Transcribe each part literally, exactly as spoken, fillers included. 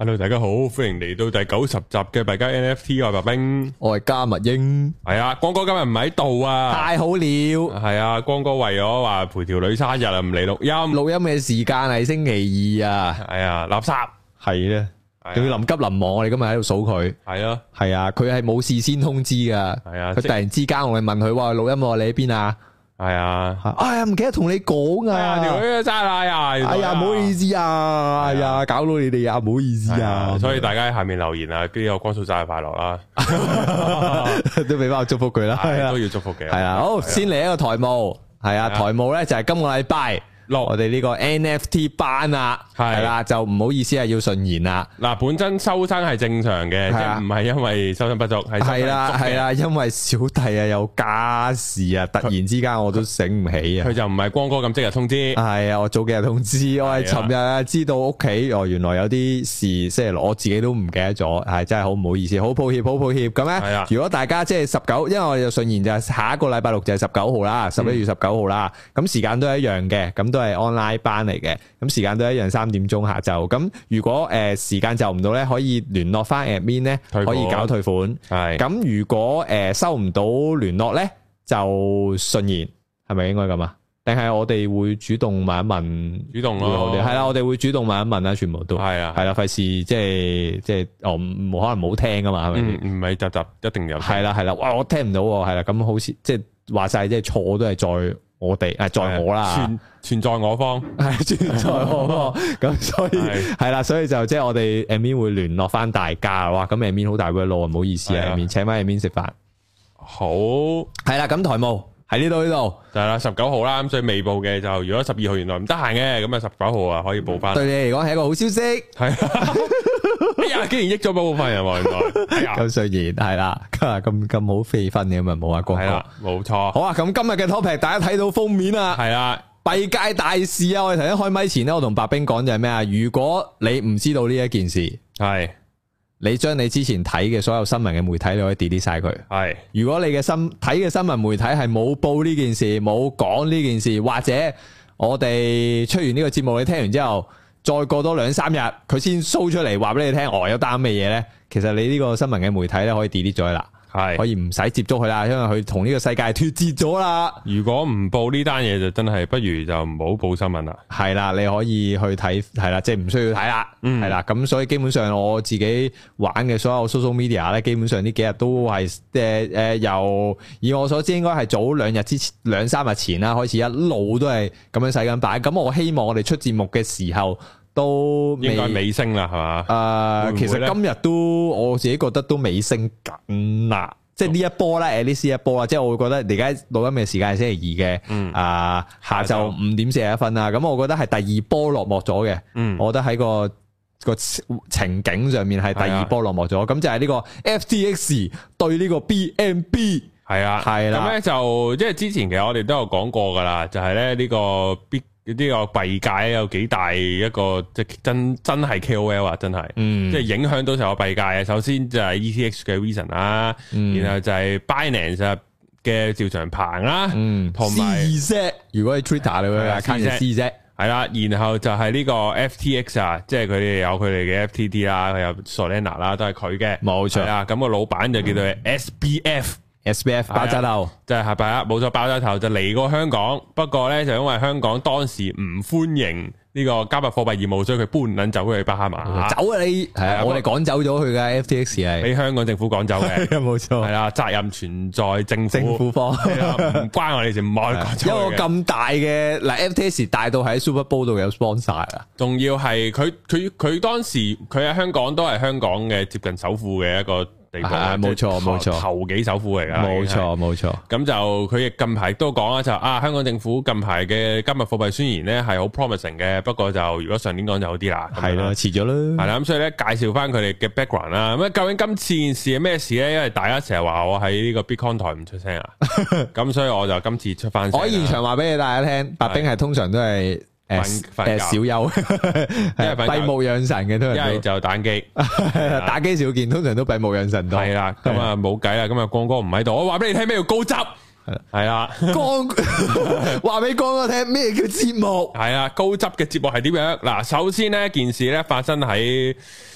Hello， 大家好，歡迎嚟到第九十集嘅幣加 N F T， 我係白兵， 我係加密鷹， 係啊，光哥今日唔喺度啊， 太好了， 係啊，光哥為咗話陪條女生日啊，唔嚟錄音， 錄音嘅時間係星期二啊， 係啊，垃圾， 係咧，仲要臨急臨忙，我哋今日喺度數佢， 係咯， 係啊，佢係冇事先通知噶，係啊，佢突然之間我哋問佢話錄音喎，你喺邊啊？係啊，哎呀，唔記得同你講啊，條女生日啊，哎呀，唔好意思啊，哎呀，搞到你哋啊，唔好意思啊， 所以大家喺下面留言啊，跟住有光速生日快樂啦， 都俾翻我祝福佢啦， 都要祝福嘅， 係啊，好，先嚟一個台務，係啊，台務咧就係今個禮拜。我哋呢個 N F T 班啊，係啦，就唔好意思啊，要順延啦。嗱，本身收生係正常嘅，即係唔係因為收生不足，係係啦係啦，因為小弟啊有家事啊，突然之間我都醒唔起啊。佢就唔係光哥咁即日通知，係啊，我早幾日通知，我係尋日啊知道屋企哦，原來有啲事，即係我自己都唔記得咗，係真係好唔好意思，好抱歉，好抱歉。咁咧，如果大家即係十九，因為我哋順延就係下一個禮拜六就係十九號啦，十一月十九號啦，咁時間都係一樣嘅，咁都係 online 班嚟嘅，咁時間都一樣三點鐘下晝。咁如果誒、呃、時間就唔到咧，可以聯絡翻 admin 咧，可以搞退款。係咁，如果誒、呃、收唔到聯絡咧，就順延，係咪應該咁啊？定係我哋會主動問一問？主動咯，係啦，我哋會主動問一問啦，全部都係啊，係啦，費事即係即係哦，冇可能冇聽噶嘛，係咪？唔係集集一定有。係啦係啦，哇，我聽唔到，係啦，咁好似即係話晒，即係錯都係在我哋誒，在我啦，存存在我方，係存在我方，咁所以係啦，所以就即係我哋 admin 會聯絡翻大家，哇，咁 admin 好大個咯，唔好意思啊 admin，請翻 admin 食飯，好，係啦，咁台務喺呢度呢度就係啦，十九號啦，咁所以未報嘅就如果十二號原來唔得閒嘅，咁啊十九號啊可以報翻，對你嚟講係一個好消息，係。哎呀，竟然益咗部分人喎，原來咁雖然係啦，咁咁好飛分嘅咁啊，冇啊，光哥，冇錯。好啊，咁今日嘅 topic 大家睇到封面啊，係啦，幣界大事啊！我哋頭先開咪前咧，我同白兵講就係咩啊？如果你唔知道呢一件事，係你將你之前睇嘅所有新聞嘅媒體，你可以 delete 晒佢。係，如果你嘅新睇嘅新聞媒體係冇報呢件事，冇講呢件事，或者我哋出完呢個節目，你聽完之後。再過多兩三日，佢先 show 出嚟話俾你聽，哦有單咩嘢咧？其實你呢個新聞嘅媒體咧可以 delete 咗啦，係可以唔使接觸佢啦，因為佢同呢個世界脫節咗啦。如果唔報呢單嘢，就真係不如就唔好報新聞啦。係啦，你可以去睇，係啦，即係唔需要睇啦，係啦。咁所以基本上我自己玩嘅所有 social media 咧，基本上呢幾日都係誒誒，由以我所知應該係早兩日之前兩三日前啦，開始一路都係咁樣洗緊版。咁我希望我哋出節目嘅時候。都應該尾聲啦，係嘛？誒、呃，其實今日都我自己覺得都尾聲緊啦，即係呢一波咧，誒，呢呢一波啦，即係我會覺得而家錄音嘅時間係星期二嘅，嗯，啊、呃，下晝五點四十一分啦，咁我覺得係第二波落幕咗嘅，嗯，我覺得喺個個情景上面係第二波落幕咗，咁就係呢個 F T X 對呢個 B N B， 係啊，係啦，咁咧就即係之前其實我哋都有講過噶啦，就係咧呢個 B。呢個幣界有幾大一個即係真真係 K O L 啊，真係，嗯，即係影響到成個幣界啊。首先就係 E T H 嘅 Reason 啦，嗯，然後就係 Binance 嘅趙長鵬啦，嗯，同埋 C Z， 如果喺 Twitter 你會 account C Z，係啦，然後就係呢個 F T X 啊，即係佢哋有佢哋嘅 F T T 啦，佢有 Solana 啦，都係佢嘅，冇錯啊。咁個老闆就叫做 S B F。S B F 爆炸頭，即係係咪啊？冇錯，爆炸頭就嚟過香港，不過咧就因為香港當時唔歡迎呢個加密貨幣業務，所以佢搬捻走去巴哈馬。走啊你！係啊，我哋趕走咗佢嘅 F T X 係俾香港政府趕走嘅，冇錯。係啦，責任存在政府政府方，唔關我哋事，唔可以趕走。一個咁大嘅嗱 F T X 大到喺 Super Bowl 度有 sponsor 啊，仲要係佢佢佢當時佢喺香港都係香港嘅接近首富嘅一個。係冇錯冇錯，頭幾首富嚟噶，冇錯冇錯。咁就佢亦近排都講啦，就啊香港政府近排嘅加密貨幣宣言咧係好 promising 嘅，不過就如果上年講就好啲啦，係啦遲咗啦，係啦咁所以咧介紹翻佢哋嘅 background 啦。咁究竟今次件事係咩事咧？因為大家成日話我喺呢個 Bitcoin 台唔出聲啊，咁所以我就今次出翻聲。我喺現場話俾你大家聽，白兵係通常都係。誒誒，小休，係閉目養神嘅，都係一係就打機，打機少見，通常都閉目養神多。係啦，咁啊冇計啦，咁啊光哥唔喺度，我話俾你聽咩叫高質，係啦，光話俾光哥聽咩叫節目，係啊，高質嘅節目係點樣？嗱，首先呢件事咧發生喺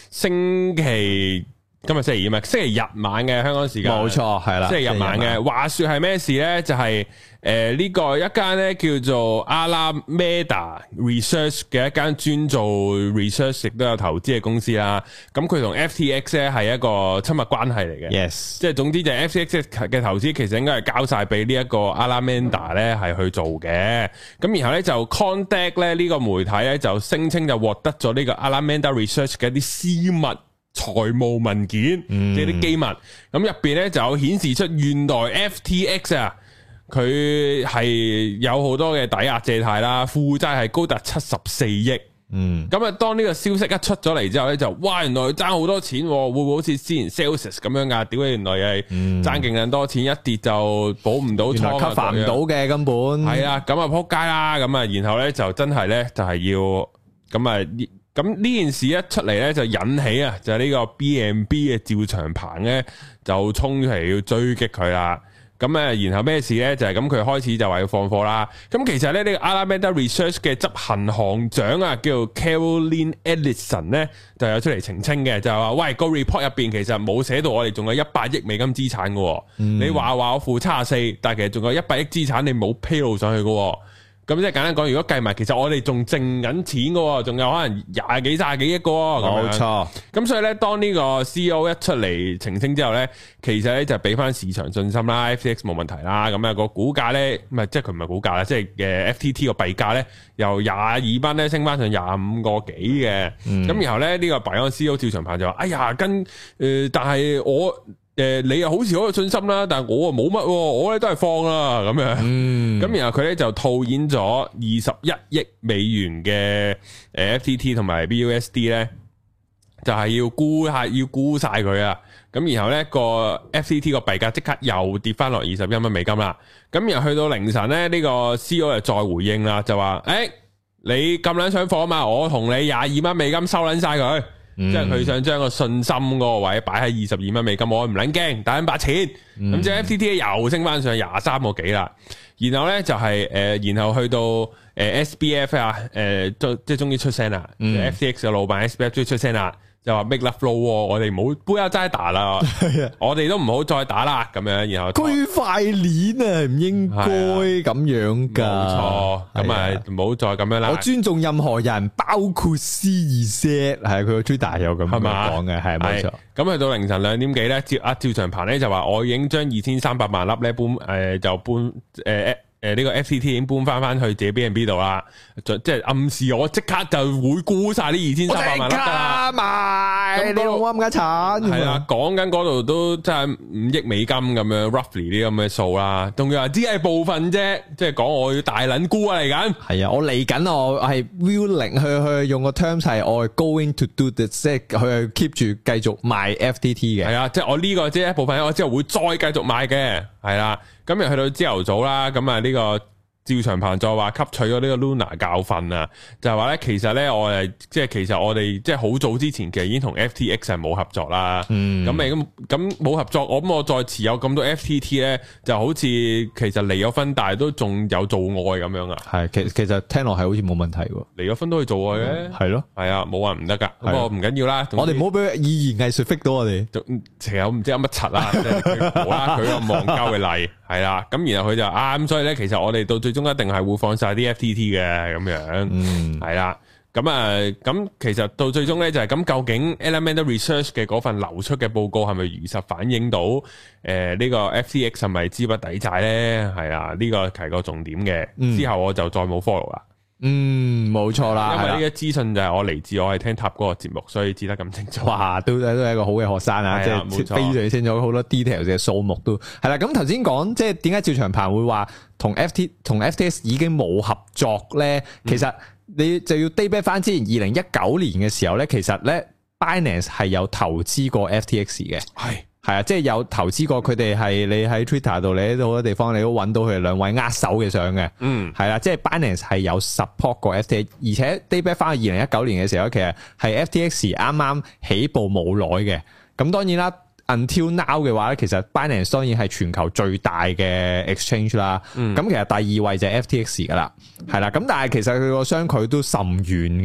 星期。今日星期二嘛，星期日晚嘅香港時間， 冇錯，係啦， 星期日晚嘅。話說係咩事咧？就係誒呢個一間咧叫做 Alameda Research 嘅一間專做 research 亦都有投資嘅公司啦。咁佢同 F T X 咧係一個親密關係嚟嘅。 Yes， 即係總之就係 F T X 嘅投資其實應該係交晒俾呢一個 Alameda 咧係去做嘅。咁然後咧就 Contact 咧呢個媒體咧就聲稱就獲得咗呢個 Alameda Research 嘅一啲私密財務文件，即係啲機密，咁入邊咧就有顯示出原來 F T X 啊，佢係有好多嘅抵押借貸啦，負債係高達七十四億。嗯，咁啊，當呢個消息一出咗嚟之後咧，就哇，原來佢爭好多錢，會唔會好似之前 Celsius 咁樣噶？屌，原來係爭勁咁多錢，一跌就補唔到倉，原來 cover 唔到嘅根本。係啊，咁啊撲街啦，咁啊，然後咧就真係咧就係要咁啊。咁呢件事一出嚟咧，就引起啊，就係呢個 B N B 嘅趙長鵬咧，就衝出嚟要追擊佢啦。咁誒，然後咩事咧？就係咁，佢開始就話要放貨啦。咁其實咧，呢個 Alameda Research 嘅執行行長啊，叫做 Caroline Ellison 咧，就有出嚟澄清嘅，就係話：喂，個 report 入邊其實冇寫到我哋仲有一百億美金資產嘅。嗯、你話話我負七十四，但係其實仲有一百億資產，你冇披露上去嘅。咁即係簡單講，如果計埋，其實我哋仲剩緊錢嘅，仲有可能廿幾、卅幾億嘅。冇錯。咁所以咧，當呢個 C E O 一出嚟澄清之後咧，其實咧就俾翻市場信心啦 ，F T X 冇問題啦。咁啊個股價咧，唔係即係佢唔係股價啦，即係嘅 F T T 個幣價咧，由廿二蚊咧升翻上廿五個幾嘅。咁、嗯、然後咧呢、這個幣安 C E O 趙長鵬就話：哎呀，跟誒、呃，但係我。誒、呃，你又好似好有信心啦，但係我啊冇乜，我咧都係放啦咁樣。咁、嗯、然後佢咧就套現咗二十一億美元嘅誒 F T T 同埋 B U S D 咧，就係、是、要沽下，要沽晒佢啊。咁然後咧個 F T T 個幣價即刻又跌翻落二十一蚊美金啦。咁然後去到凌晨咧，呢、這個 C E O 就再回應啦，就話：誒、欸，你咁撚想放啊嘛，我同你廿二蚊美金收撚晒佢。嗯、即係佢想將個信心嗰個位擺喺二十二蚊美金，我唔撚驚，打緊把錢。咁、嗯、即係 F T T 又升翻上廿三個幾啦。然後咧就係、是、誒、呃，然後去到誒 S B F 啊，誒、呃，即係終於出聲啦。嗯、F T X 嘅老闆 S B F 終於出聲啦。就話 make love flow，我哋唔好杯下齋打啦，我哋都唔好再打啦，咁樣，然後區塊鏈啊，唔應該咁樣噶， 冇錯，咁啊唔好再咁樣啦。 我尊重任何人，包括 C 二 set， 係佢個 Twitter 有咁樣講嘅，係冇錯。 咁去到凌晨兩點幾咧，趙阿趙長鵬咧就話我已經將二千三百萬粒咧搬，誒、呃、就搬誒。呃誒，呢個 F T T 已經搬翻翻去自己 B N B 度啦，即係暗示我即刻就會沽晒呢二千三百萬粒噶啦， 賣你老啱嘅產係啊，講緊嗰度都真係五億美金咁樣 roughly 啲咁嘅數啦，仲要話只係部分啫，即係講我要大撚沽啊嚟緊，係啊，我嚟緊我係 willing 去去用個 terms 係我係 going to do this， 即係佢 keep 住繼續賣 F T T 嘅， 係啊，即係我呢個即係一部分，我之後會再繼續賣嘅，係啦。咁又去到朝頭早啦，咁啊呢個趙長鵬就話吸取咗呢個 Luna 教訓啊，就係話咧其實咧我誒即係其實我哋即係好早之前其實已經同 F T X 係冇合作啦，咁咪咁咁冇合作，我咁我再持有咁多 F T T 咧，就好似其實離咗婚，但係都仲有做愛咁樣啊。係， 其其實聽落係好似冇問題喎， 離咗婚都可以做愛嘅，係咯，係啊，冇話唔得噶，不過唔緊要啦。 我哋唔好俾語言藝術 fit 到我哋， 其實我唔知有乜柒啦，即係冇啦，佢個忘交嘅例係啦，咁然後佢就啊咁，所以咧其實我哋到最終一定係會放晒啲 F T T 嘅咁樣，嗯，係啦，咁啊，咁其實到最終咧就係咁，究竟 Alameda Research 嘅嗰份流出嘅報告係咪如實反映到誒呢、呃這個 F T X 係咪資不抵債咧？係啊，呢、這個係個重點嘅。嗯、之後我就再冇 follow 啦。嗯， 冇錯啦， 因為呢個資訊就係我嚟自我係聽塔嗰個節目，所以知得咁清楚。 哇，都都係一個好嘅學生啊，即係非常清楚好多 details 嘅數目都係啦。咁頭先講即係點解趙長鵬會話同 F T 同 F T X 已經冇合作咧？嗯、其實你就要 date back 翻之前二零一九年嘅時候咧，其實咧 Binance 係有投資過 F T X 嘅，係。係啊，即係有投資過佢哋，係你喺 Twitter 度，你喺好多地方你都揾到佢哋兩位握手嘅相嘅。嗯，係啦，即係 Binance 係有 support 過 F T X，而且 date back 翻去二零一九年嘅時候，其實係 F T X 啱啱起步冇耐嘅。咁當然啦 ，until now 嘅話咧，其實 Binance 當然係全球最大嘅 exchange 啦。嗯，咁其實第二位就係 F T X 噶啦，係啦。咁但係其實佢個相距都甚遠嘅。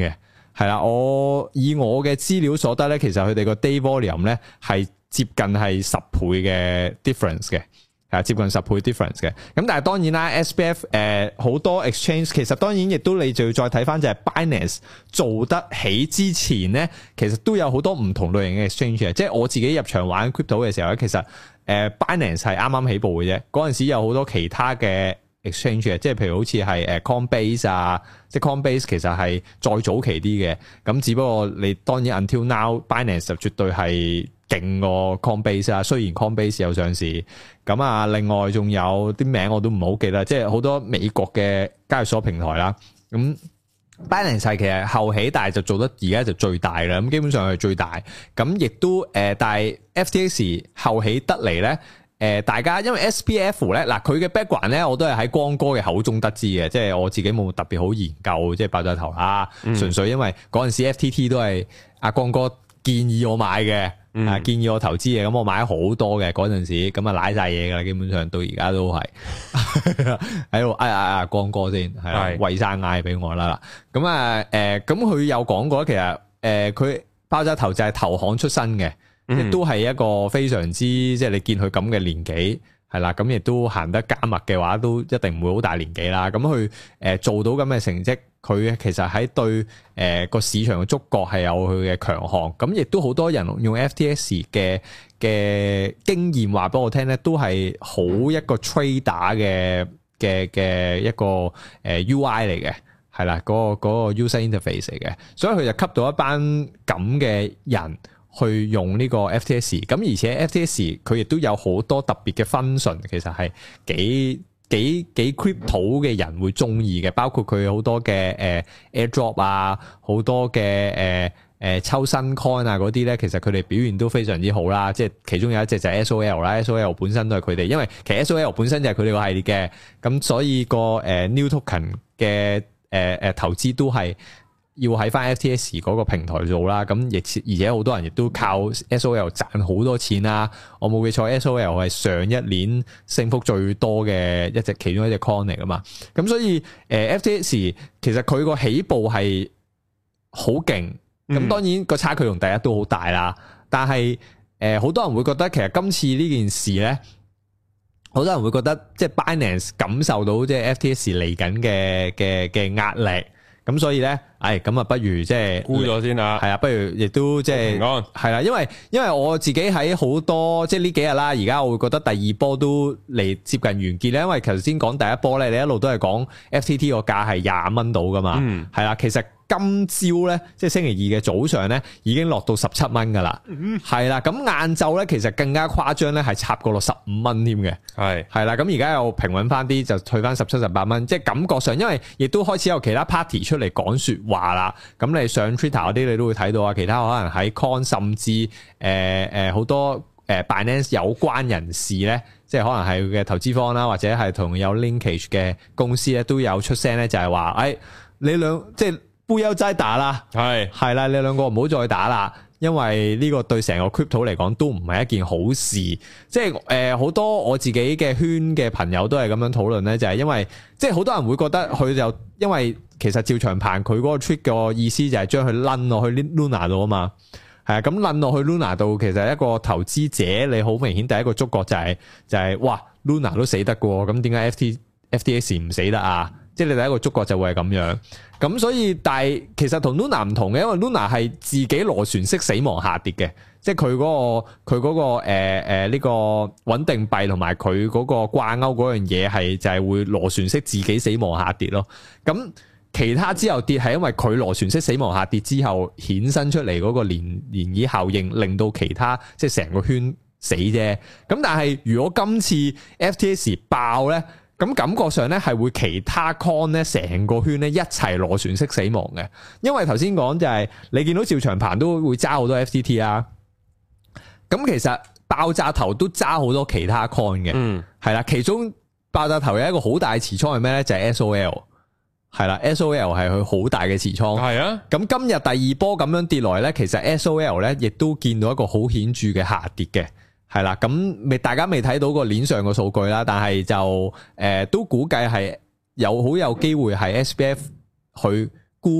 係啦，我以我嘅資料所得咧，其實佢哋個 day volume 咧係接近係十倍嘅 difference 嘅。係接近十倍 difference 嘅，咁但係當然啦 ，S B F 誒好多 exchange 其實當然亦都你就要再睇翻就係 Binance 做得起之前咧，其實都有好多唔同類型嘅 exchange 嘅，即係我自己入場玩 crypto 嘅時候咧，其實誒 Binance 係啱啱起步嘅啫，嗰陣時有好多其他嘅 exchange 嘅，即係譬如好似係誒 Coinbase 啊，即係 Coinbase 其實係再早期啲嘅，咁只不過你當然 until now Binance 就絕對係勁過 Coinbase 啊，雖然 Coinbase 有上市，咁啊，另外仲有啲名我都唔好記得，即係好多美國嘅交易所平台啦。咁 Binance 係其實後起，但係就做得而家就最大啦。咁基本上係最大，咁亦都誒、呃，但係 F T X 後起得嚟咧，誒、呃，大家因為 S B F 咧，嗱佢嘅 background 咧，我都係喺光哥嘅口中得知嘅，即係我自己冇特別好研究，即係爆炸頭啦，純、嗯、粹因為嗰陣時 F T T 都係阿光哥建議我買嘅。嗯、啊！建議我投資嘅，咁我買咗好多嘅嗰陣時，咁啊瀨晒嘢噶啦，基本上到而家都係喺度嗌嗌嗌光哥先，係啦，喂晒嗌俾我啦。咁啊，誒、呃，咁佢有講過，其實誒，佢、呃、爆炸頭就係投行出身嘅，亦、嗯、都係一個非常之，即係你見佢咁嘅年紀，係啦，咁亦都行得加密嘅話，都一定唔會好大年紀啦。咁佢誒做到咁嘅成績。佢其實喺對誒個市場嘅觸覺係有佢嘅強項，咁亦都好多人用 F T X 嘅嘅經驗話俾我聽咧，都係好一個 trader 嘅嘅嘅一個誒 U I 嚟嘅，係啦，嗰個嗰個 user interface 嚟嘅，所以佢就吸到一班咁嘅人去用呢個 F T X， 咁而且 F T X 佢亦都有好多特別嘅 function，其實係幾。幾幾 crypto 嘅人會中意嘅，包括佢好多嘅誒 airdrop 啊，好多嘅誒誒抽新 coin 啊嗰啲咧，其實佢哋表現都非常之好啦。即係其中有一隻就係 S O L 啦 ，S O L 本身都係佢哋，因為其實 S O L 本身就係佢哋個系列嘅，咁所以個誒 new token 嘅誒誒投資都係要喺翻 F T X 嗰個平台做啦，咁亦而且好多人亦都靠 S O L 賺好多錢啦。我冇記錯 S O L 係上一年升幅最多嘅一隻其中一隻 coin 嚟噶嘛。咁所以誒 F T X 其實佢個起步係好勁，咁當然個差距同第一都好大啦。但係誒好多人會覺得其實今次呢件事咧，好多人會覺得即係 Binance 感受到即係 F T X 嚟緊嘅嘅嘅壓力。咁所以咧，誒，咁啊，不如即係沽咗先啦。係啊，不如亦都即係平安。係啦，因為因為我自己喺好多即係呢幾日啦，而家我會覺得第二波都嚟接近完結咧。因為頭先講第一波咧，你一路都係講 F T T 個價係廿蚊到噶嘛。嗯，係啦，其實今朝咧，即係星期二嘅早上咧，已經落到十七蚊噶啦。嗯，係啦，咁晏晝咧，其實更加誇張咧，係插過落十五蚊添嘅。係係啦，咁而家又平穩翻啲，就退翻十七、十八蚊。即係感覺上，因為亦都開始有其他 party 出嚟講說話啦。咁你上 Twitter 嗰啲，你都會睇到啊。其他可能喺 Con 甚至誒誒好多誒 Binance 有關人士咧，即係可能係佢嘅投資方啦，或者係同有 linkage 嘅公司咧，都有出聲咧，就係話誒你兩即係。不要再打啦，係係啦，你兩個唔好再打啦，因為呢個對成個 crypto 嚟講都唔係一件好事。即係誒好多我自己嘅圈嘅朋友都係咁樣討論咧，就係、是、因為即係好多人會覺得佢就因為其實趙長鵬佢嗰個 trick 個意思就係將佢掄落去 Luna 度啊嘛，係啊，咁掄落去 Luna 度，其實一個投資者你好明顯第一個觸覺就係、是、就係、是、哇 Luna 都死得㗎，咁點解 F T F T X 唔死得啊？即係你第一個觸覺就會係咁樣，咁所以但係其實同 Luna 唔同嘅，因為 Luna 係自己螺旋式死亡下跌嘅，即係佢嗰個佢嗰個誒誒呢個穩定幣同埋佢嗰個掛鈎嗰樣嘢係就係會螺旋式自己死亡下跌咯。咁其他之後跌係因為佢螺旋式死亡下跌之後衍生出嚟嗰個漣漣漪效應，令到其他即係成個圈死啫。咁但係如果今次 F T X 爆咧？咁感覺上咧係會其他 coin 咧成個圈咧一齊螺旋式死亡嘅，因為頭先講就係你見到趙長鵬都會揸好多 F T T 啊，咁其實爆炸頭都揸好多其他 coin 嘅，嗯，係啦，其中爆炸頭有一個好大嘅持倉係咩咧？就係 S O L， 係啦 ，S O L 係佢好大嘅持倉，係啊，咁今日第二波咁樣跌落嚟咧，其實 S O L 咧亦都見到一個好顯著嘅下跌嘅。係啦，咁未大家未睇到個鏈上個數據啦，但係就誒、呃、都估計係有好有機會係 S B F 去沽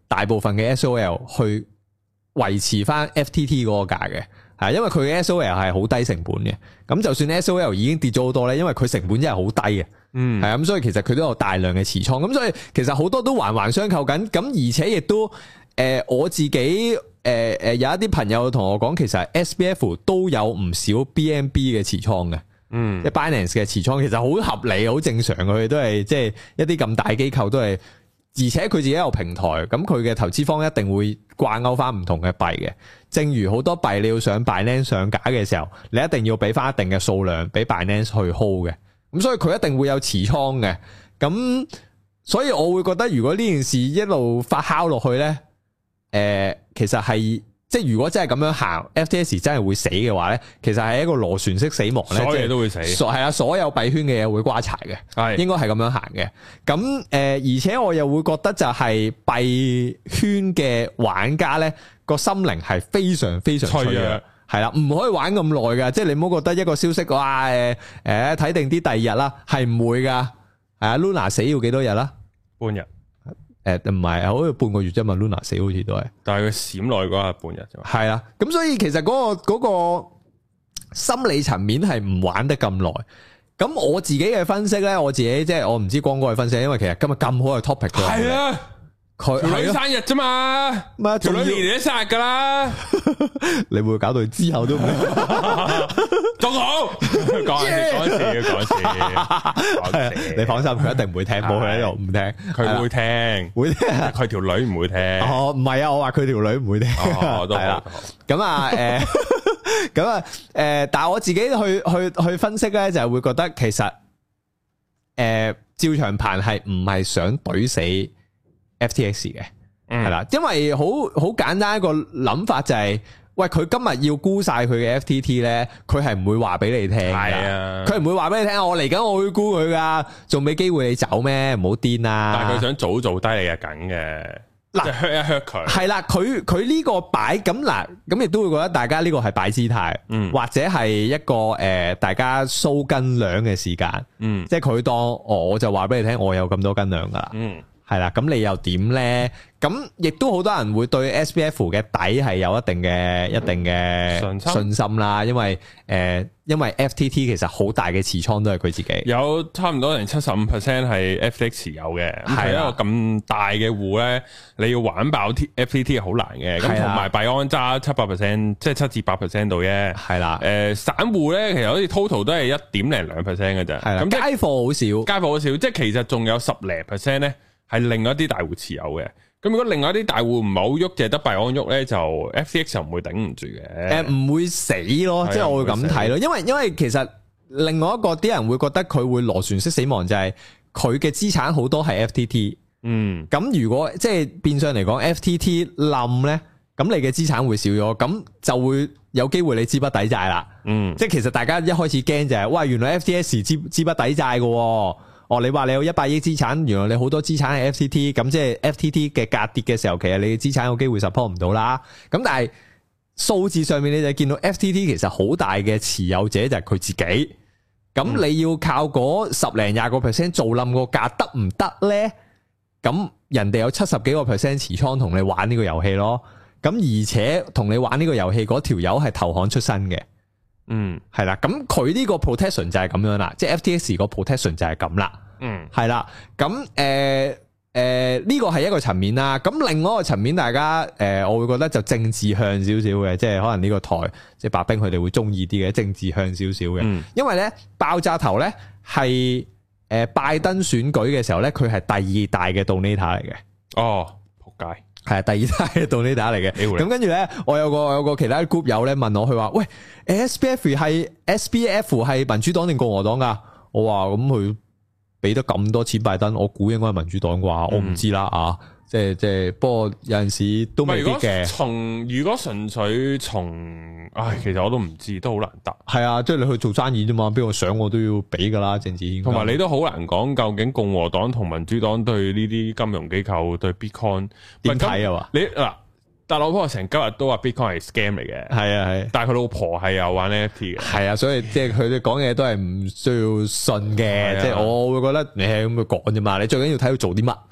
大部分嘅 S O L 去維持翻 F T T 嗰個價嘅，係因為佢嘅 S O L 係好低成本嘅，咁就算 S O L 已經跌咗好多咧，因為佢成本真係好低嘅，嗯，係啊，咁所以其實佢都有大量嘅持倉，咁所以其實好多都環環相扣緊，咁而且亦都誒、呃、我自己誒誒、呃、有一啲朋友同我講，其實 S B F 都有唔少 B N B 嘅持倉嘅。嗯，即係 Binance 嘅持倉其實好合理，好正常，佢哋都係即係一啲咁大機構都係，而且佢自己有平台，咁佢嘅投資方一定會掛鈎翻唔同嘅幣嘅。正如好多幣你要上 Binance 上架嘅時候，你一定要俾翻一定嘅數量俾 Binance 去 hold 嘅，咁所以佢一定會有持倉嘅。咁所以我會覺得如果呢件事一路發酵落去咧，誒、呃，其實係。即係如果真係咁樣行 ，F T X 真係會死嘅話咧，其實係一個螺旋式死亡咧， 所有嘢都會死。 係啊，所有幣圈嘅嘢會瓜柴嘅，係應該係咁樣行嘅。咁誒、呃，而且我又會覺得就係幣圈嘅玩家咧，個心靈係非常非常脆弱，係啦，唔可以玩咁耐噶。即係你唔好覺得一個消息哇誒誒睇定啲第二日啦，係唔會噶。係啊 ，Luna 死要幾多日啦？半日。誒，唔係，好似半個月啫嘛 ，Luna 死好似都係，但係佢閃耐嗰下半日啫嘛。係啦，咁所以其實嗰、嗰個、嗰個心理層面係唔玩得咁耐。咁我自己嘅分析咧，我自己即係我唔知光哥嘅分析，因為其實今日咁好嘅 topic 係啊。條女生日啫嘛，條女年年都生日噶啦，你會搞到之後都唔仲好講笑講笑講笑，你放心，佢一定唔會聽，冇佢喺度唔聽，佢會聽，會聽，佢條女唔會聽。哦，唔係啊，我話佢條女唔會聽，係啦。咁啊，誒，咁啊，誒，但係我自己去去去分析咧，就係會覺得其實，誒，趙長鵬係唔係想懟死F T X 嘅，係啦，因為好好簡單一個諗法就係、是，喂，佢今日要沽晒佢嘅 F T T 咧，佢係唔會話俾你聽噶，佢唔會話俾你聽，我嚟緊我會沽佢噶，仲俾機會你走咩？唔好癲啊！但係佢想早做低你係緊嘅，嗱，即係 hurt 一 hurt 佢，係啦，佢佢呢個擺咁嗱，咁亦都會覺得大家呢個係擺姿態，嗯，或者係一個誒、呃，大家收斤兩嘅時間，嗯，即係佢當我就話俾你聽，我有咁多斤兩噶啦，嗯。係啦，咁你又點咧？咁亦都好多人會對 S B F 嘅底係有一定嘅一定嘅信心啦，因為誒、呃，因為 F T T 其實好大嘅持倉都係佢自己，有差唔多成七十五 percent 係 F T X 持有嘅，係一個咁大嘅戶咧，你要玩爆 F T T 係好難嘅。咁同埋幣安揸七百 percent，即係七至八 percent 度啫。係啦，誒、呃，散戶咧其實好似 total 都係一點零兩 percent 嘅啫。係啦，咁街貨好少，街貨好少，即係其實仲有十零 percent 咧。係另外一啲大戶持有嘅，咁如果另外一啲大戶唔係好喐，淨係得幣安喐咧，就 F T X 就唔會頂唔住嘅。誒，唔會死咯，即係我會咁睇咯。因為因為其實另外一個啲人會覺得佢會螺旋式死亡，就係佢嘅資產好多係 F T T。嗯，咁如果即係變相嚟講 F T T 冧咧，咁你嘅資產會少咗，咁就會有機會你資不抵債啦。嗯，即係其實大家一開始驚就係，喂，原來 F T X 資資不抵債嘅。哦，你話你有一百億資產，原來你好多資產係 F T T， 咁即係 F T T 嘅價跌嘅時候，其實你嘅資產有機會 support 唔到啦。咁但係數字上面你就見到 F T T 其實好大嘅持有者就係佢自己。咁你要靠嗰十零廿個 percent 做冧個價得唔得咧？咁人哋有七十幾個 percent 持倉同你玩呢個遊戲咯。咁而且同你玩呢個遊戲嗰條友係投行出身嘅。嗯，係啦，咁佢呢個 protection 就係咁樣啦，即係 F T X 個 protection 就係咁啦。嗯，係啦，咁誒誒呢個係一個層面啦。咁另外一個層面，大家誒、呃、我會覺得就政治向少少嘅，即係可能呢個台即係白兵佢哋會中意啲嘅政治向少少嘅。嗯，因為咧爆炸頭咧係誒拜登選舉嘅時候咧，佢係第二大嘅 donator 嚟嘅。哦，仆街。係啊，第二大嘅 donator 嚟嘅。咁跟住咧，我有個有個其他 group 友咧問我，佢話喂 ，S B F 係 S B F 係民主黨定共和黨噶？我話咁佢俾得咁多錢拜登，我估應該係民主黨啩，我唔知啦啊。即係即係，不過有陣時都未必嘅。從如果純粹從，唉，其實我都唔知，都好難答。係啊，即係你去做生意啫嘛，邊個想我都要俾噶啦，政治。同埋你都好難講，究竟共和黨同民主黨對呢啲金融機構對 Bitcoin 點睇啊？嘛，你嗱，特朗普成今日都話 Bitcoin 係 scam 嚟嘅，係啊係。但係佢老婆係有玩 N F T 嘅，係啊，所以即係佢哋講嘢都係唔需要信嘅。即係我會覺得你係咁去講啫嘛，你最緊要睇佢做啲乜。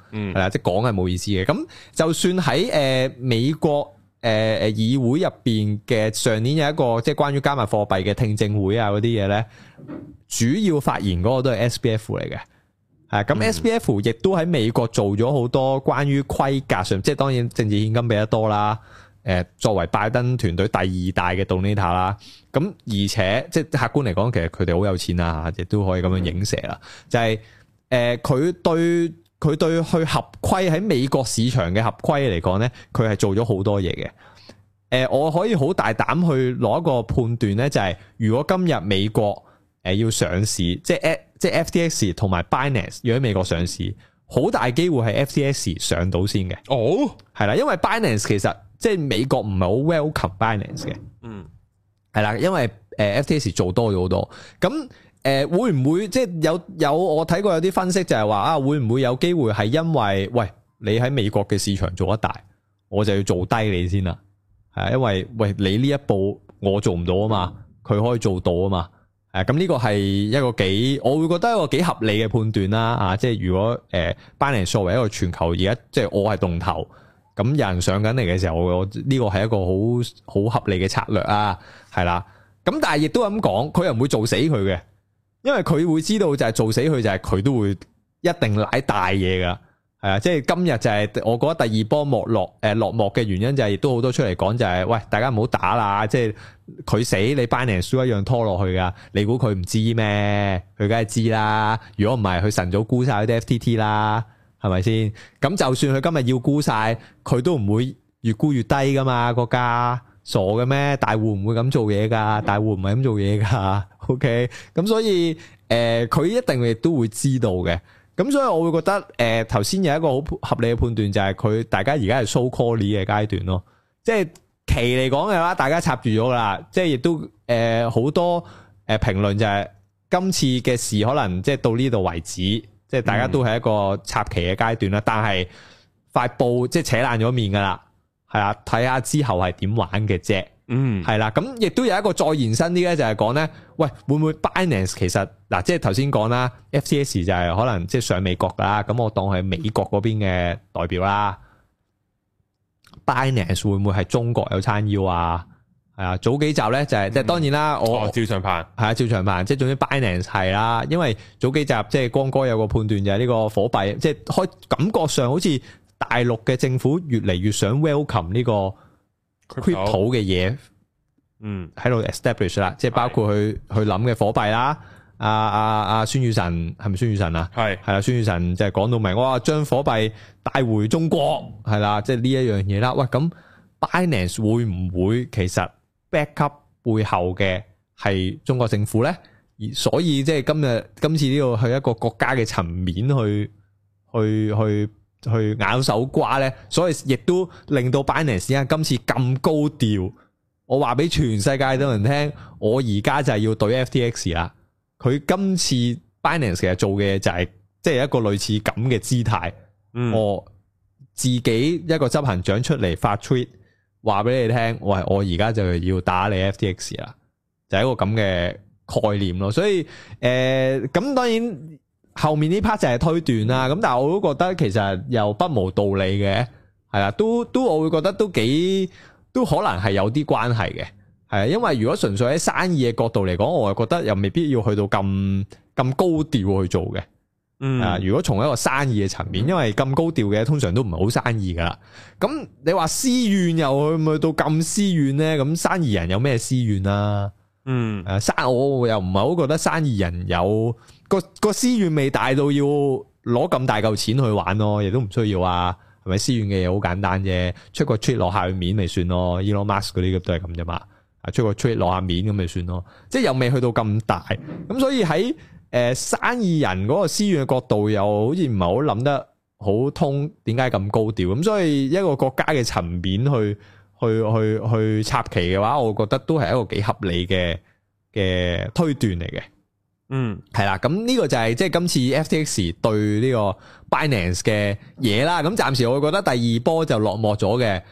係啦、嗯，即係講係冇意思嘅。咁就算喺誒、呃、美國誒誒、呃、議會入邊嘅上年有一個即係關於加密貨幣嘅聽證會啊嗰啲嘢咧，主要發言嗰個都係 S B F 嚟嘅。係咁 S B F 亦都喺美國做咗好多關於規格上，即係當然政治獻金俾得多啦。誒，作為拜登團隊第二大嘅 donator 啦，咁而且即係客觀嚟講，其實佢哋好有錢啊，亦都可以咁樣影射啦。就係、是、誒，佢、呃、對佢對去合規喺美國市場嘅合規嚟講咧，佢係做咗好多嘢嘅。誒、呃，我可以好大膽去攞一個判斷咧，就係、是、如果今日美國誒要上市，即係即係 F T X 同埋 Binance 要喺美國上市，好大機會係 F T X 上到先嘅。哦，係啦，因為 Binance 其實即係美國唔係好 welcome Binance 嘅。嗯，係啦，因為誒 F T X 做多咗好多。咁誒、呃、會唔會即係有有我睇過有啲分析就係話啊，會唔會有機會係因為喂你喺美國嘅市場做得大，我就要做低你先啦。係啊，因為喂你呢一步我做唔到啊嘛，佢可以做到啊嘛。誒，咁呢個係一個幾，我會覺得一個幾合理嘅判斷啦。啊，即係如果誒 Binance 作為一個全球而家即係我係動頭，咁有人上緊嚟嘅時候，我呢個係一個好好合理嘅策略啊，係啦。咁但係亦都咁講，佢又唔會做死佢嘅，因為佢會知道就係做死佢就係佢都會一定舐大嘢噶。係啊，即係今日就係我覺得第二波沒落誒落幕嘅原因就係亦都好多出嚟講就係、是、喂，大家唔好打啦，即係佢死你 Binance 一樣拖落去噶，你估佢唔知咩？佢梗係知啦，如果唔係佢晨早沽晒啲 F T T 啦，係咪先？咁就算佢今日要沽晒，佢都唔會越沽越低噶嘛，國家傻嘅咩？大戶唔會咁做嘢噶，大戶唔係咁做嘢噶 ，OK？咁所以誒，佢、呃、一定亦都會知道嘅。咁所以我會覺得誒頭先有一個好合理嘅判斷就係佢大家而家係 so call 嘅階段咯，即係期嚟講嘅話，大家插住咗啦，即係亦都誒好、呃、多誒評論就係今次嘅事可能即係到呢度為止，即係大家都係一個插旗嘅階段啦。嗯、但係塊布即係扯爛咗面噶啦，係啊，睇下之後係點玩嘅啫。嗯，係啦，咁亦都有一個再延伸啲咧，就係講咧，喂，會唔會 Binance 其實嗱，即係頭先講啦 ，F T X 就係可能即係上美國噶啦，咁我當係美國嗰邊嘅代表啦。Binance 會唔會係中國有撐腰啊？係啊，早幾集咧就係即係當然啦，我哦，趙長鵬係啊，趙長鵬，即係總之 Binance 係啦，因為早幾集即係光哥有個判斷就係呢個火幣，即係開感覺上好似大陸嘅政府越嚟越想 welcome 呢個。crypto 嘅嘢，嗯，喺度 establish 啦，即係包括去去諗嘅火幣啦，阿阿阿孫宇晨係咪孫宇晨啊？係係啦，孫宇晨就係講到明，哇，將火幣帶回中國，係啦，即係呢一樣嘢啦。喂，咁 Binance 會唔會其實 backup 背後嘅係中國政府咧？而所以即係今日今次呢個去一個國家嘅層面去去去。去咬手瓜咧，所以亦都令到 Binance 啊今次咁高調。我話俾全世界都人聽，我而家就係要對 F T X 啦。佢今次 Binance 其實做嘅就係即係一個類似咁嘅姿態。嗯、我自己一個執行長出嚟發 tweet 話俾你聽，喂，我而家就要打你 F T X 啦，就係一個咁嘅概念咯。所以誒，咁、呃、當然。後面呢 part 就係推斷啦，咁但係我都覺得其實又不無道理嘅，係啦，都都我會覺得都幾都可能係有啲關係嘅，係啊，因為如果純粹喺生意嘅角度嚟講，我係覺得又未必要去到咁咁高調去做嘅，嗯啊，如果從一個生意嘅層面，因為咁高調嘅通常都唔係好生意噶啦，咁你話私怨又去唔去到咁私怨咧？咁生意人有咩私怨啊？嗯，誒，生我又唔係好覺得生意人有個個私怨未大到要攞咁大嚿錢去玩咯，亦都唔需要啊，係咪？私怨嘅嘢好簡單啫，出個 tweet 落下面咪算咯 ，Elon Musk 嗰啲都係咁啫嘛，啊，出個 tweet 落下面咁咪算咯，即係又未去到咁大，咁所以喺誒、呃、生意人嗰個私怨嘅角度，又好似唔係好諗得好通，點解咁高調？咁所以一個國家嘅層面去。去去去插旗嘅話，我覺得都係一個幾合理嘅嘅推斷嚟嘅。嗯，係啦，咁呢個就係即係今次 F T X 對呢個 Binance 嘅嘢啦。咁暫時我覺得第二波就落幕咗嘅。咁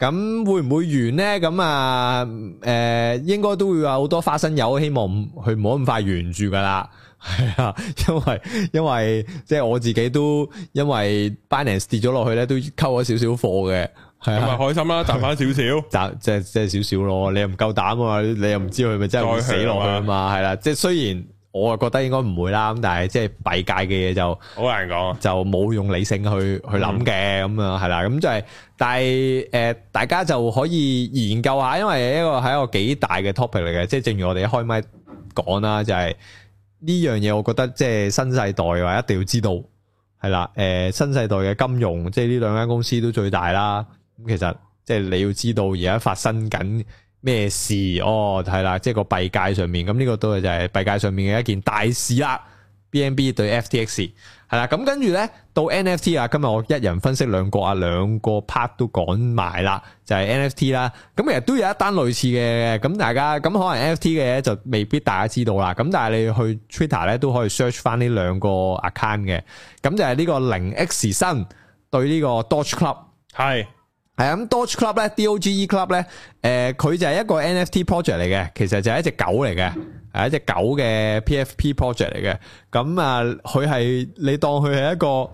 咁會唔會完呢？咁啊，誒、呃，應該都會有好多花生友，希望佢唔好咁快完住噶啦。係啊，因為因為即係我自己都因為 Binance 跌咗落去咧，都溝咗少少貨嘅。係啊，咁咪開心啦，賺翻少少，賺即係即係少少咯。你又唔夠膽啊嘛，你又唔知佢咪真係會死落去啊嘛。係啦，即係雖然我啊覺得應該唔會啦，咁但係即係幣界嘅嘢就好難講，就冇用理性去去諗嘅咁啊，係啦，咁就係，但係誒，大家就可以研究下，因為一個係一個幾大嘅 topic 嚟嘅，即係正如我哋一開麥講啦，就係呢樣嘢，我覺得即係新世代話一定要知道，係啦，誒，新世代嘅金融，即係呢兩間公司都最大啦。咁其實即係你要知道而家發生緊咩事哦，係啦，即係個幣界上面，咁呢個都係就係幣界上面嘅一件大事啦。B N B 對 F T X 係啦，咁跟住咧到 N F T 啊，今日我一人分析兩個啊，兩個 part 都講埋啦，就係 N F T 啦。咁其實都有一單類似嘅，咁大家咁可能 N F T 嘅就未必大家知道啦。咁但係你去 Twitter 咧都可以 search 翻呢兩個 account 嘅，咁就係呢個零 X 新對呢個 Doge Club 係。係咁 Doge Club 咧 ，D O G E Club 咧，誒、呃，佢就係一個 N F T project 嚟嘅，其實就係一隻狗嚟嘅，係一隻狗嘅 P F P project 嚟嘅。咁啊，佢係你當佢係一個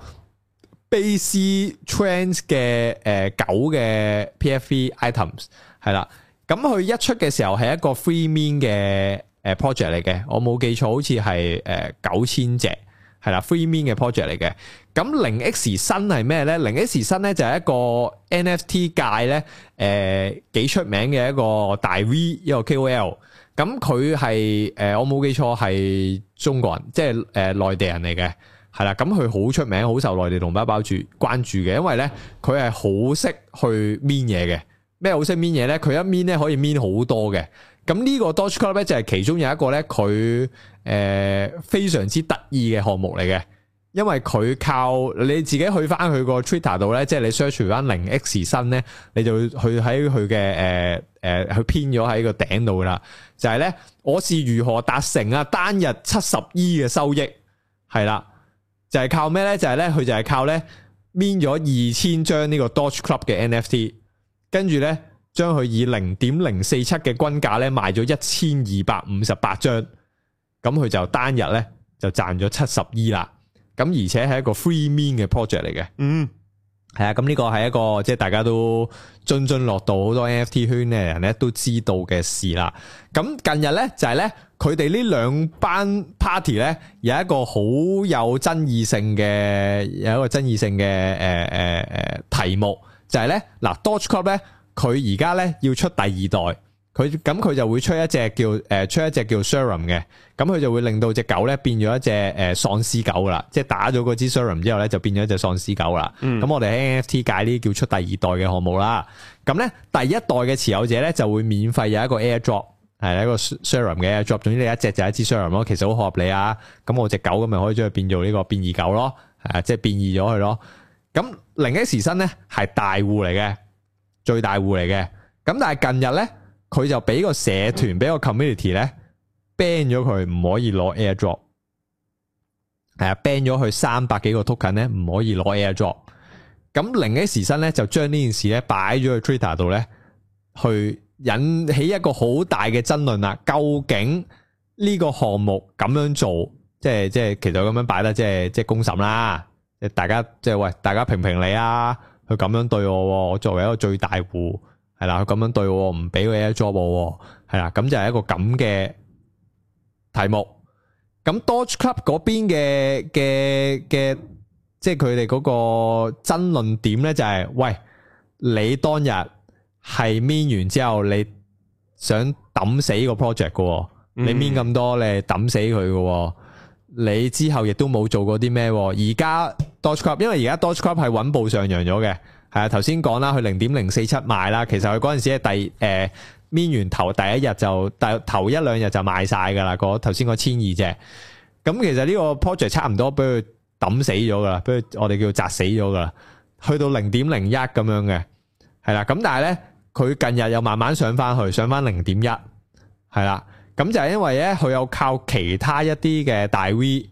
base trends 嘅誒、呃、狗嘅 P F P items 係啦。咁佢一出嘅時候係一個 free mint 嘅誒 project 嚟嘅，我冇記錯好似係誒九千隻。係啦 ，free mint 嘅 project 嚟嘅。咁零 X 新係咩咧？零 X 新咧就係一個 N F T 界咧，誒、呃、幾出名嘅一個大 V， 一個 K O L。咁佢係誒我冇記錯係中國人，即係誒內地人嚟嘅。係啦，咁佢好出名，好受內地同胞包住關注嘅，因為咧佢係好識去 mint 嘢嘅。咩好識 mint 嘢咧？佢一 mint 咧可以 mint 好多嘅。咁呢個 Doge Club 咧就係其中有一個咧，佢誒非常之得意嘅項目嚟嘅，因為佢靠你自己去翻佢個 Twitter 度咧，即係你 search 翻零 X 新咧，你就去喺佢嘅誒誒去編咗喺個頂度啦。就係咧，我是如何達成啊單日七十億嘅收益，係啦，就係靠咩咧？就係咧，佢就係靠咧 mint 咗二千張呢個 Doge Club 嘅 N F T， 跟住咧。將佢以零點零四七嘅均價咧賣咗一千二百五十八張，咁佢就單日咧就賺咗七十億啦。咁而且係一個 free mint 嘅 project 嚟嘅。嗯，係啊，咁呢個係一個即係大家都津津樂道，好多 N F T 圈嘅人咧都知道嘅事啦。咁近日咧就係咧佢哋呢兩班 party 咧有一個好有爭議性嘅有一個爭議性嘅誒誒誒題目，就係咧嗱 Doge Club 咧。佢而家咧要出第二代，佢咁佢就會出一隻叫誒、呃、出一隻叫 Serum 嘅，咁佢就會令到隻狗咧變咗一隻誒喪屍狗啦，即係打咗嗰支 Serum 之後咧就變咗一隻喪屍狗啦。咁、嗯、我哋喺 N F T 界呢叫出第二代嘅項目啦。咁咧第一代嘅持有者咧就會免費有一個 Airdrop， 係一個 Serum 嘅 Airdrop， 總之你一隻就一支 Serum 咯，其實好合理啊。咁我隻狗咁咪可以將佢變做呢個變異狗咯，係啊，即係變異咗佢咯。咁零 X 新咧係大戶嚟嘅。最大戶嚟嘅，咁但係近日咧，佢就俾個社團，俾個 community 咧 ban 咗佢，唔可以攞 airdrop， 係啊 ban 咗佢三百幾個 token 咧，唔可以攞 airdrop。咁零 X 新咧就將呢件事咧擺咗去 Twitter 度咧，去引起一個好大嘅爭論啦。究竟呢個項目咁樣做，即係即係其實咁樣擺得，即係即係公審啦。即係大家即係喂，大家評評理啊！佢咁樣對我，我作為一個最大戶，係啦，佢咁樣對我，唔俾佢 airdrop 我，係啦，咁就係一個咁嘅題目。咁 Doge Club 嗰邊嘅嘅嘅，即係佢哋嗰個爭論點咧，就係喂，你當日係 mint 完之後，你想抌死個 project 嘅，你 mint 咁多，你係抌死佢嘅。你之後亦都冇做過啲咩？而家 Doge Club 因為而家 Doge Club 係穩步上揚咗嘅，係啊，頭先講啦，佢零點零四七賣啦，其實佢嗰陣時係第誒 mint 完頭第一日就第頭一兩日就賣晒噶啦，嗰頭先嗰千二隻，咁其實呢個 project 差唔多俾佢抌死咗噶啦，俾佢我哋叫砸死咗噶啦，去到零點零一咁樣嘅，係啦，咁但係咧佢近日又慢慢上翻去，上翻零點一，係啦。咁就係因為咧，佢有靠其他一啲嘅大 V，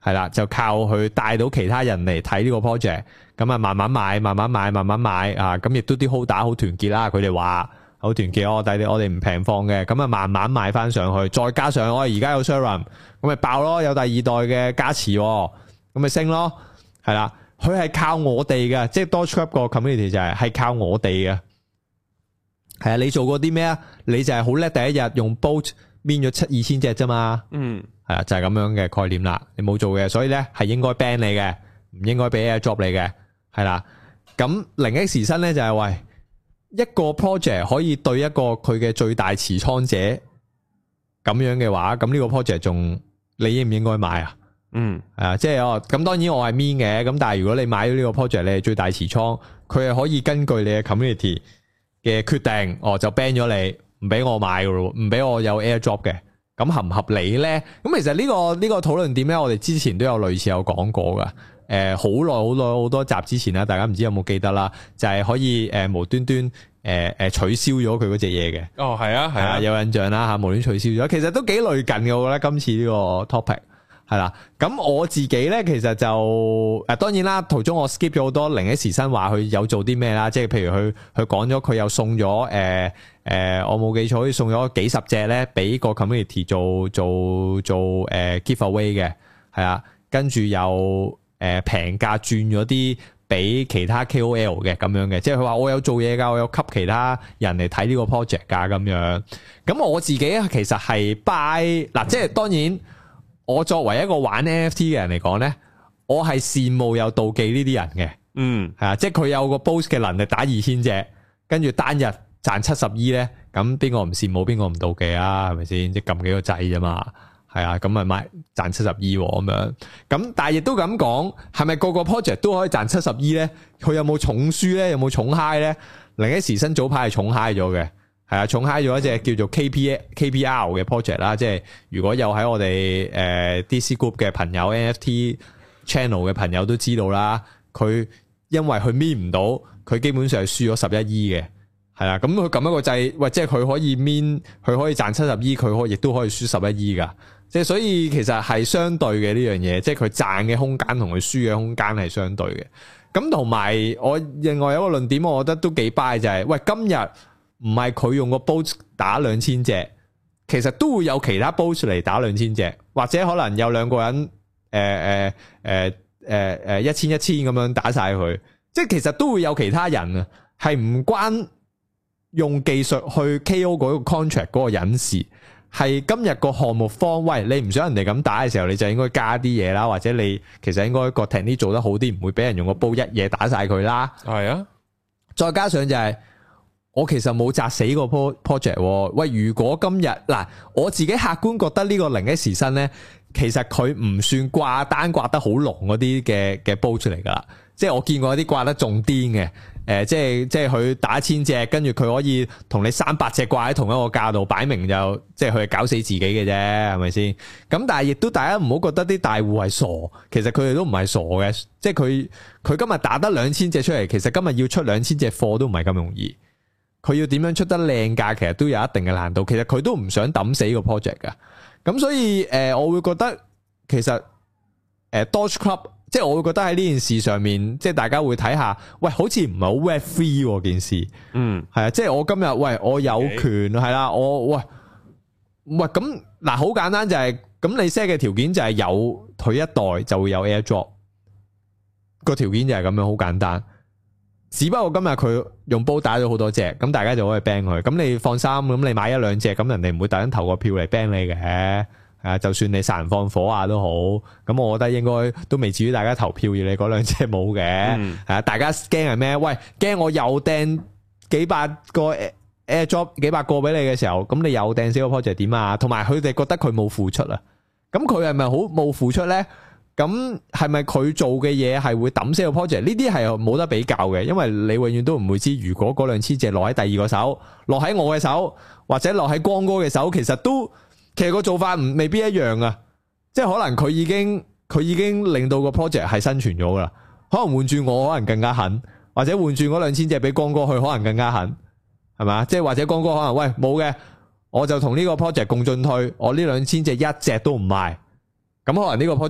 係啦，就靠佢帶到其他人嚟睇呢個 project， 咁啊慢慢買，慢慢買，慢慢買啊，咁亦都啲 holder 好團結啦，佢哋話好團結，我哋我哋唔平放嘅，咁啊慢慢買翻上去，再加上我而家有 Serum， 咁咪爆咯，有第二代嘅加持，咁咪升咯，係啦，佢係靠我哋嘅，即係 Dogecoin 個 community 就係係靠我哋嘅，係啊，你做過啲咩啊？你就係好叻，第一日用 Bolt 搣咗七二千隻啫嘛，嗯。係啊，就係咁樣嘅概念啦。你冇做嘅，所以咧係應該 ban 你嘅，唔應該俾 airdrop 你嘅，係啦。咁零 X 新咧就係喂一個 project 可以對一個佢嘅最大持倉者咁樣嘅話，咁呢個 project 仲你應唔應該買啊？嗯，係啊，即係哦。咁當然我係 mean 嘅，咁但係如果你買咗呢個 project，你係最大持倉，佢係可以根據你嘅 community 嘅決定，哦就 ban 咗你，唔俾我買噶咯，唔俾我有 airdrop 嘅。咁合唔合理咧？咁其實呢個呢個討論點咧，我哋之前都有類似有講過噶。誒，好耐好耐好多集之前啦，大家唔知有冇記得啦？就係可以誒無端端誒誒取消咗佢嗰隻嘢嘅。哦，係啊，係啊，有印象啦吓，無端取消咗。其實都幾類近嘅，我覺得今次呢個 topic 係啦。咁我自己咧，其實就誒，當然啦，途中我 skip 咗好多零 X 新話佢有做啲咩啦，即係譬如佢佢講咗佢又送咗誒。誒、呃，我冇記錯，好似送咗幾十隻咧，俾個 community 做做做誒、呃、giveaway 嘅，係啊，跟住又誒平價轉咗啲俾其他 K O L 嘅咁樣嘅，即係佢話我有做嘢噶，我有吸其他人嚟睇呢個 project 噶咁樣。咁我自己其實係 buy 嗱，即係當然我作為一個玩 N F T 嘅人嚟講咧，我係羨慕又妒忌呢啲人嘅，嗯，係啊，即係佢有個 boost 嘅能力打二千隻，跟住單日賺七十億咧，咁邊個唔羨慕邊個唔妒忌啊？係咪先？即係撳幾個掣啫嘛，係啊，咁咪買賺七十億咁樣。咁但係亦都咁講，係咪個個 project 都可以賺七十億咧？佢有冇重輸咧？有冇重 high 咧？零 X 新早排係重 high 咗嘅，係啊，重 high 咗一隻叫做 K P K P R 嘅 project 啦。即係如果有喺我哋誒 D C Group 嘅朋友 N F T channel 嘅朋友都知道啦，佢因為佢搣唔到，佢基本上係輸咗十一億嘅。係啦，咁佢撳一個掣，喂，即係佢可以 min，佢可以賺七十億，佢可亦都可以輸十一億噶。即係所以其實係相對嘅呢樣嘢，即係佢賺嘅空間同佢輸嘅空間係相對嘅。咁同埋我另外有一個論點，我覺得都幾 buy 就係、是，喂，今日唔係佢用個 bot 打兩千隻，其實都會有其他 bot 嚟打兩千隻，或者可能有兩個人誒誒誒誒誒一千一千咁樣打晒佢，即係其實都會有其他人啊，係唔關。用技術去 K O 嗰個 contract 嗰個隱士，係今日個項目方，喂，你唔想人哋咁打嘅時候，你就應該加啲嘢啦，或者你其實應該個 technique 做得好啲，唔會俾人用個煲一嘢打晒佢啦。係啊，再加上就係、是、我其實冇砸死個 project。喂，如果今日嗱，我自己客觀覺得呢個零 X 新咧，其實佢唔算掛單掛得好濃嗰啲嘅嘅煲出嚟噶啦，即係我見過一啲掛得仲癲嘅。誒、呃，即係即係佢打一千隻，跟住佢可以同你三百隻掛喺同一個價度，擺明就即係佢係搞死自己嘅啫，係咪先？咁但係亦都大家唔好覺得啲大戶係傻，其實佢哋都唔係傻嘅，即係佢佢今日打得兩千隻出嚟，其實今日要出兩千隻貨都唔係咁容易，佢要點樣出得靚價，其實都有一定嘅難度。其實佢都唔想抌死個 project 噶，咁所以誒、呃，我會覺得其實誒、呃、Doge Club。即係我會覺得喺呢件事上面，即係大家會睇下，喂，好似唔係好 Web three 件事，嗯，係啊，即係我今日喂，我有權係啦，我喂喂咁嗱，好簡單就係、是、咁，你 set 嘅條件就係有佢一代就會有 airdrop，個條件就係咁樣，好簡單。只不過今日佢用煲打咗好多隻，咁大家就可以 ban 佢。咁你放心，咁你買一兩隻，咁人哋唔會突然投個票嚟 ban 你嘅。啊，就算你殺人放火啊都好，咁我覺得應該都未至於大家投票要你嗰兩隻冇嘅。係啊、嗯，大家驚係咩？喂，驚我又掟幾百個 airdrop 幾百個俾你嘅時候，咁你又掟死個 project 點啊？同埋佢哋覺得佢冇付出啊，咁佢係咪好冇付出咧？咁係咪佢做嘅嘢係會抌死個 project？呢啲係冇得比較嘅，因為你永遠都唔會知，如果嗰兩千隻落喺第二個手，落喺我嘅手，或者落喺光哥嘅手，其實都。其實個做法唔未必一樣啊，即係可能佢已經佢已經令到個 project 係生存咗噶啦，可能換住我可能更加狠，或者換住嗰兩千隻俾光哥去可能更加狠，係嘛？即係或者光哥可能喂冇嘅，我就同呢個 project 共進退，我呢兩千隻一隻都唔賣，咁可能呢個 project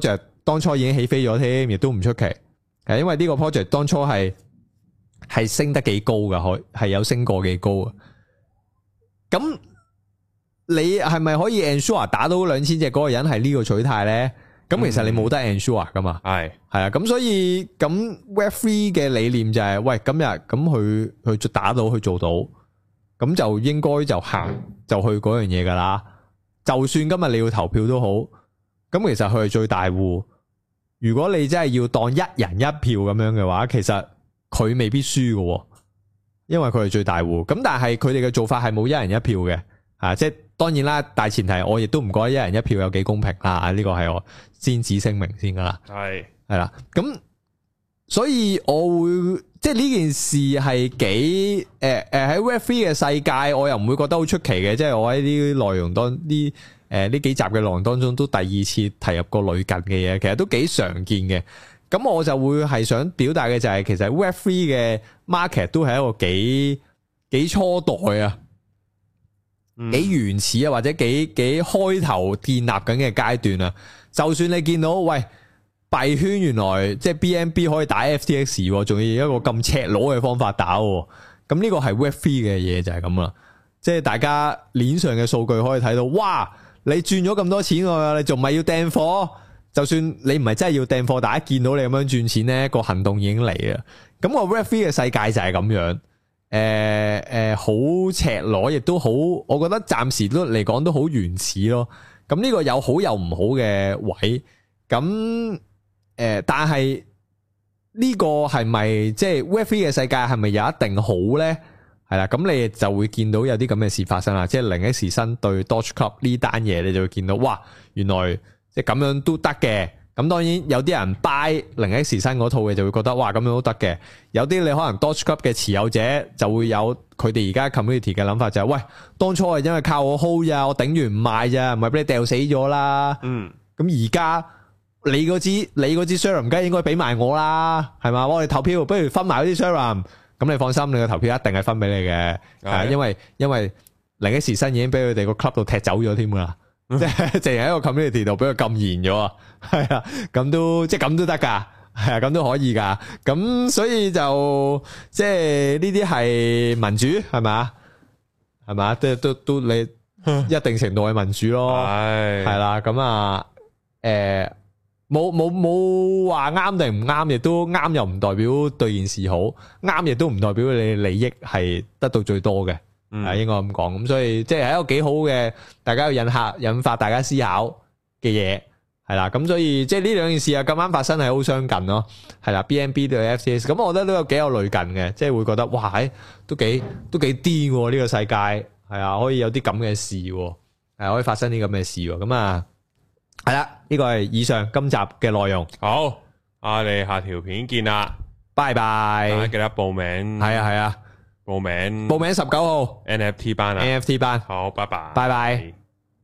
當初已經起飛咗添，亦都唔出奇。係因為呢個 project 當初係係升得幾高噶，可係有升過幾高啊。咁你係咪可以 ensure 打到兩千隻嗰個人係呢個取態咧？咁其實你冇得 ensure 噶嘛。係係啊，咁所以咁 Web 三嘅理念就係、是，喂，今日咁佢佢打到去做到，咁就應該就行就去嗰樣嘢噶啦。就算今日你要投票都好，咁其實佢係最大戶。如果你真係要當一人一票咁樣嘅話，其實佢未必輸嘅，因為佢係最大戶。咁但係佢哋嘅做法係冇一人一票嘅，啊，即係當然啦。大前提我亦都唔覺得一人一票有幾公平啦。呢個係我先旨聲明先噶啦。係係啦，咁所以我會即係呢件事係幾誒誒喺 Web 三嘅世界，我又唔會覺得好出奇嘅。即係我喺啲內容當啲。誒，呢幾集嘅內容當中都第二次提入過類近嘅嘢，其實都幾常見嘅。咁我就會係想表達嘅就係，其實 Web 三嘅 market 都係一個幾幾初代啊，幾原始啊，或者幾幾開頭建立緊嘅階段啊。就算你見到喂幣圈原來即係 B N B 可以打 F T X， 仲要一個咁赤裸嘅方法打，咁呢個係 Web 三嘅嘢就係咁啦。即係大家鏈上嘅數據可以睇到，哇！你賺咗咁多錢啊，你仲唔係要掟貨？就算你唔係真係要掟貨，大家見到你咁樣賺錢呢，個行動已經嚟啦。咁個 Web 三嘅世界就係咁樣，誒、呃、誒，好、呃、赤裸，亦都好，我覺得暫時都嚟講都好原始咯。咁呢個有好有唔好嘅位，咁誒、呃，但係呢個係咪即係 Web 三嘅世界係咪有一定好呢？係啦，咁你就會見到有啲咁嘅事發生啦，即係零 X 新對 Doge Club 呢單嘢，你就會見到，哇，原來即係咁樣都得嘅。咁當然有啲人 buy 零 X 新嗰套嘅就會覺得，哇，咁樣都得嘅。有啲你可能 Doge Club 嘅持有者就會有佢哋而家 community 嘅諗法，就係、是，喂，當初係因為靠我 hold 咋，我頂完唔賣咋，唔係俾你掉死咗啦。嗯，咁而家你嗰支你嗰支 serum 梗係應該俾埋我啦，係嘛？我哋投票不如分埋嗰啲 serum。咁你放心，你個投票一定係分俾你嘅，係因為因為零 X 新已經俾佢哋個 club 度踢走咗添噶啦，即係淨係喺個 community 度俾佢禁言咗啊，係啊，咁都即係咁都得噶，係啊，咁都可以噶，咁所以就即係呢啲係民主係咪？係咪？都都都你一定程度係民主咯，係係啦，咁啊，誒。冇冇冇話啱定唔啱，亦都啱又唔代表對件事好，啱亦都唔代表你利益係得到最多嘅，係、嗯、應該咁講。咁所以即係一個幾好嘅，大家要引下引發大家思考嘅嘢，係啦。咁所以即係呢兩件事啊，咁啱發生係好相近咯，係啦。B N B 對 F T X， 咁我覺得都有幾有類近嘅，即係會覺得哇，都幾都幾癲喎呢個世界，係啊，可以有啲咁嘅事，係可以發生啲咁嘅事，咁啊。係啦，呢個係以上今集嘅內容。好，我哋下條片見啦，拜拜。大家記得報名。係啊係啊，報名報名十九號 N F T 班啊 ，N F T 班。好，拜拜，拜拜。